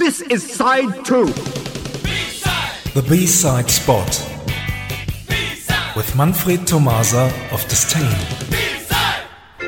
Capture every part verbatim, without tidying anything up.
This is side two. B-side. The B-side spot. B-side. With Manfred Tomasa of Disdain. B-side.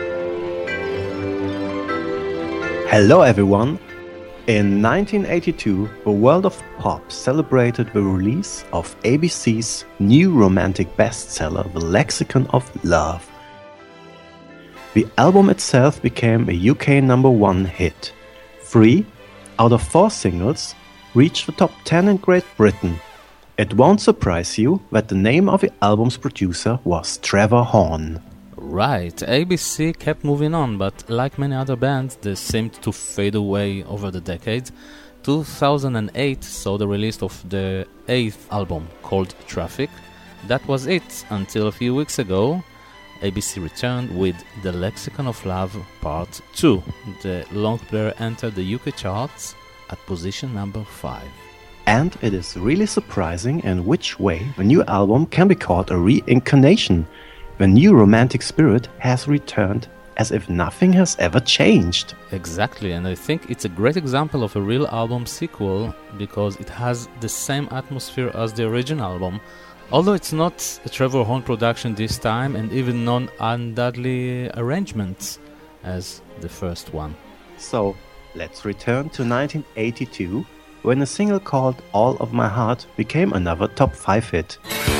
Hello everyone. In nineteen eighty-two, the world of pop celebrated the release of A B C's new romantic bestseller, The Lexicon of Love. The album itself became a U K number one hit. Three out of four singles reached the top ten in Great Britain. It won't surprise you that the name of the album's producer was Trevor Horn. Right, A B C kept moving on, but like many other bands, they seemed to fade away over the decades. two thousand eight saw the release of the eighth album, called Traffic. That was it, until a few weeks ago, A B C returned with The Lexicon of Love Part two. The long player entered the U K charts at position number five. And it is really surprising in which way the new album can be called a reincarnation. The new romantic spirit has returned as if nothing has ever changed. Exactly, and I think it's a great example of a real album sequel because it has the same atmosphere as the original album. Although it's not a Trevor Horn production this time, and even non-Dudley arrangements as the first one. So, let's return to nineteen eighty-two, when a single called All of My Heart became another top five hit.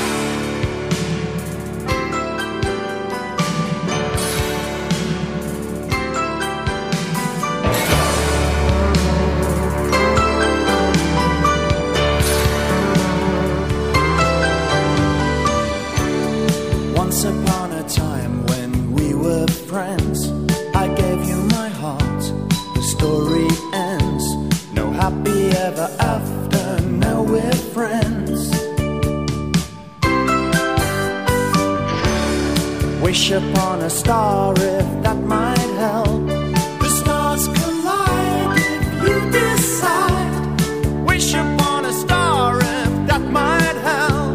Once upon a time when we were friends, I gave you my heart, the story ends. No happy ever after, now we're friends. Wish upon a star if that might help. The stars collide if you decide. Wish upon a star if that might help.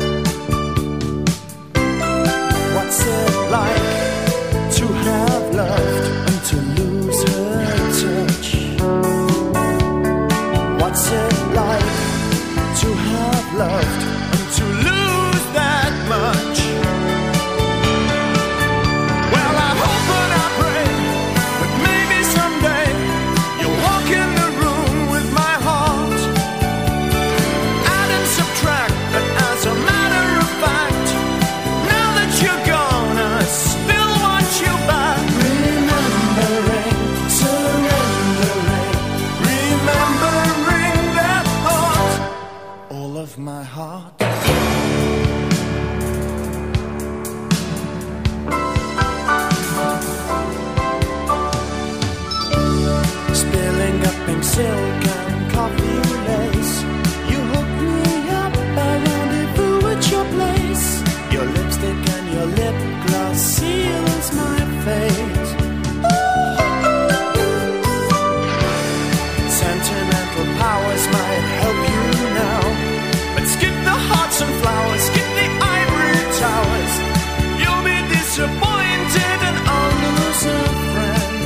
What's it like to have loved and to lose her touch? What's it like to have loved and to lose that much? Well, I hope and I pray that maybe someday you'll walk in the room with my heart. Add and subtract, but as a matter of fact, now that you're gone, I still want you back. Remembering, surrendering, remembering that thought, all of my heart. Spilling up pink silk and coffee lace, you hooked me up, I rendezvous at your place. Your lipstick and your lip gloss seals my fate. Sentimental powers might help you now, but skip the hearts and flowers, skip the ivory towers. You'll be disappointed and I'll lose a friend.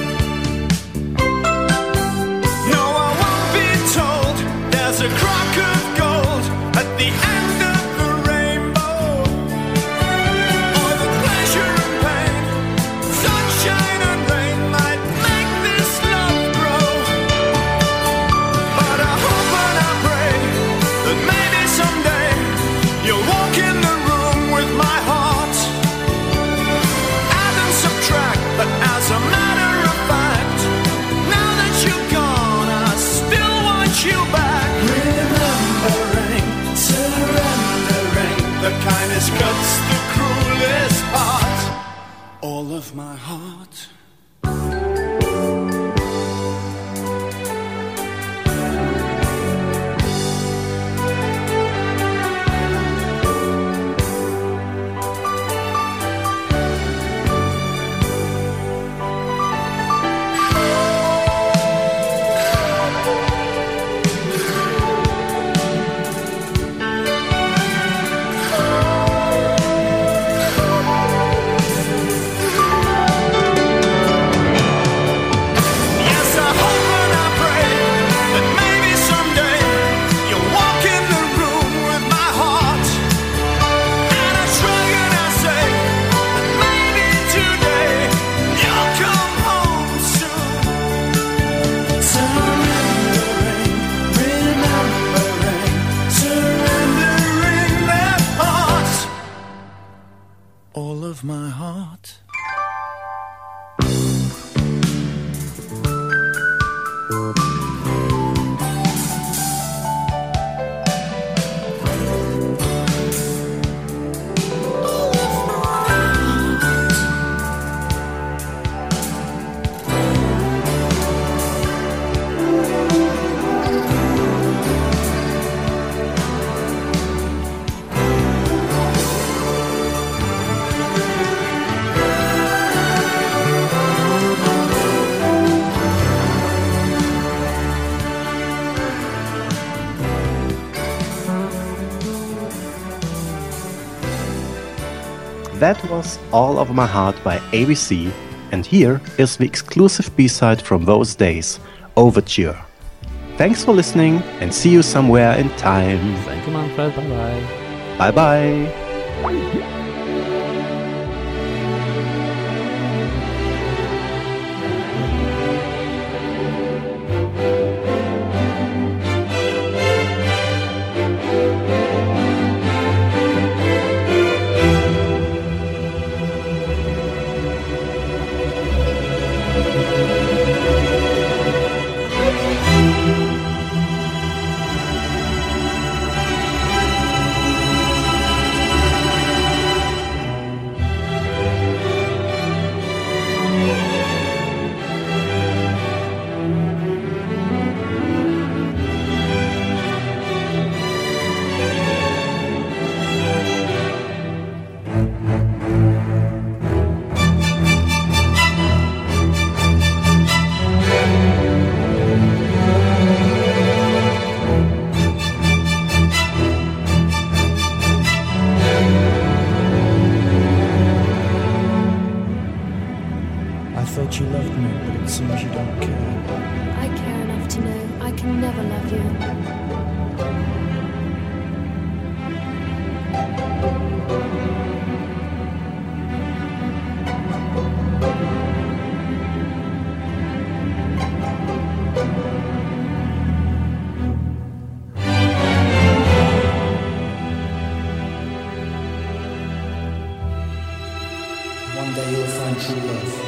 No, I won't be told there's a crock of gold at the end of the rainbow, or the pleasure and pain, sunshine and rain might make this love grow. But I hope and I pray that maybe someday you'll walk in the room with my heart. Add and subtract, but as a matter of fact, now that you're gone, I still want you back. Remembering, surrendering, the kindest cuts the cruelest part, all of my heart. That was All Over My Heart by A B C, and here is the exclusive B-side from those days, Overture. Thanks for listening, and see you somewhere in time. Thank you, Manfred. Bye-bye. Bye-bye. You loved me, but it seems you don't care. I care enough to know I can never love you. One day you'll find true love.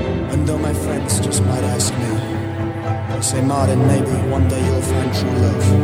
Say, Martin, maybe one day you'll find true love.